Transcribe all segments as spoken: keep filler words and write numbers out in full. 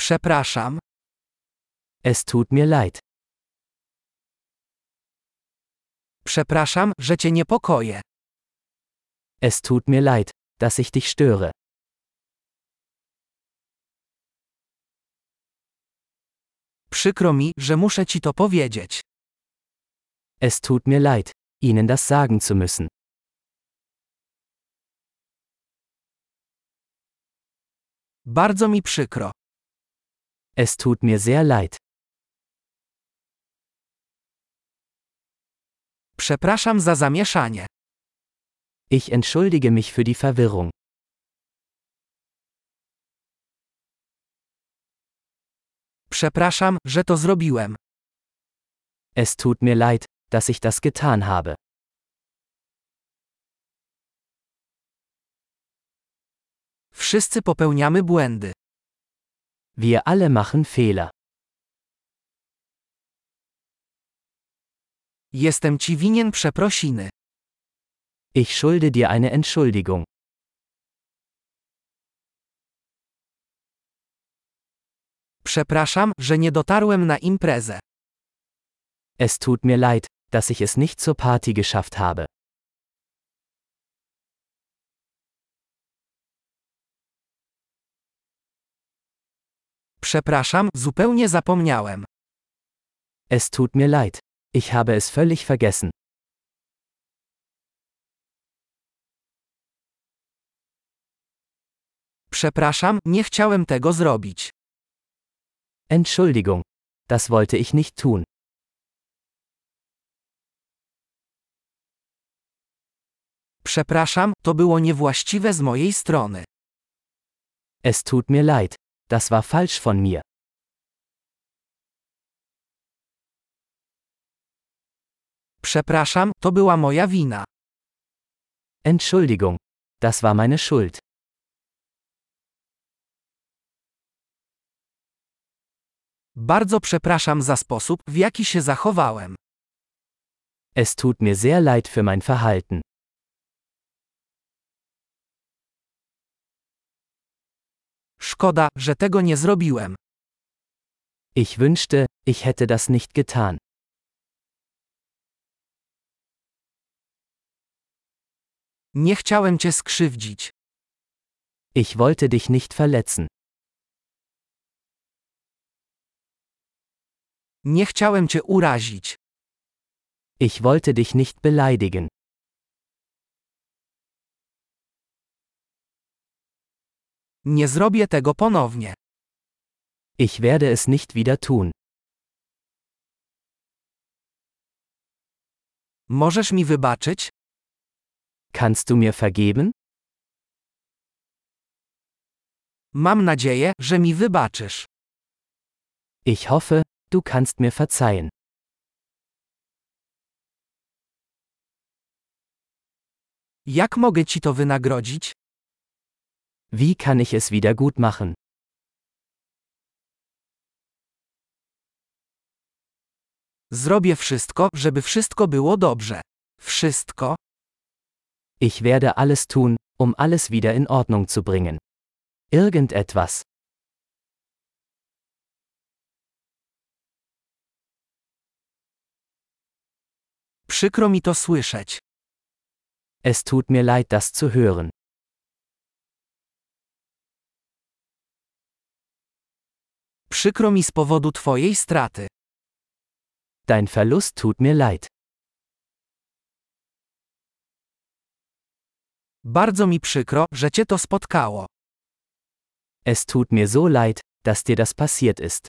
Przepraszam. Es tut mir leid. Przepraszam, że cię niepokoję. Es tut mir leid, dass ich dich störe. Przykro mi, że muszę ci to powiedzieć. Es tut mir leid, Ihnen das sagen zu müssen. Bardzo mi przykro. Es tut mir sehr leid. Przepraszam za zamieszanie. Ich entschuldige mich für die Verwirrung. Przepraszam, że to zrobiłem. Es tut mir leid, dass ich das getan habe. Wszyscy popełniamy błędy. Wir alle machen Fehler. Jestem ci winien przeprosiny. Ich schulde dir eine Entschuldigung. Przepraszam, że nie dotarłem na imprezę. Es tut mir leid, dass ich es nicht zur Party geschafft habe. Przepraszam, zupełnie zapomniałem. Es tut mir leid. Ich habe es völlig vergessen. Przepraszam, nie chciałem tego zrobić. Entschuldigung. Das wollte ich nicht tun. Przepraszam, to było niewłaściwe z mojej strony. Es tut mir leid. Das war falsch von mir. Przepraszam, to była moja wina. Entschuldigung. Das war meine Schuld. Bardzo przepraszam za sposób, w jaki się zachowałem. Es tut mir sehr leid für mein Verhalten. Szkoda, że tego nie zrobiłem. Ich wünschte, ich hätte das nicht getan. Nie chciałem cię skrzywdzić. Ich wollte dich nicht verletzen. Nie chciałem cię urazić. Ich wollte dich nicht beleidigen. Nie zrobię tego ponownie. Ich werde es nicht wieder tun. Możesz mi wybaczyć? Kannst du mir vergeben? Mam nadzieję, że mi wybaczysz. Ich hoffe, du kannst mir verzeihen. Jak mogę ci to wynagrodzić? Wie kann ich es wieder gut machen? Zrobię wszystko, żeby wszystko było dobrze. Wszystko? Ich werde alles tun, um alles wieder in Ordnung zu bringen. Irgendetwas. Przykro mi to słyszeć. Es tut mir leid, das zu hören. Przykro mi z powodu twojej straty. Dein Verlust tut mir leid. Bardzo mi przykro, że cię to spotkało. Es tut mir so leid, dass dir das passiert ist.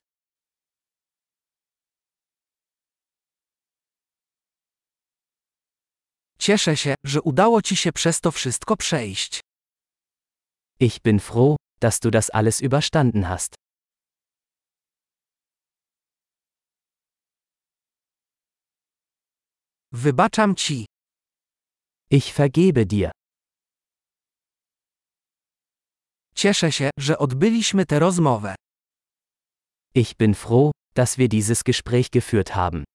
Cieszę się, że udało ci się przez to wszystko przejść. Ich bin froh, dass du das alles überstanden hast. Wybaczam ci. Ich vergebe dir. Cieszę się, że odbyliśmy tę rozmowę. Ich bin froh, dass wir dieses Gespräch geführt haben.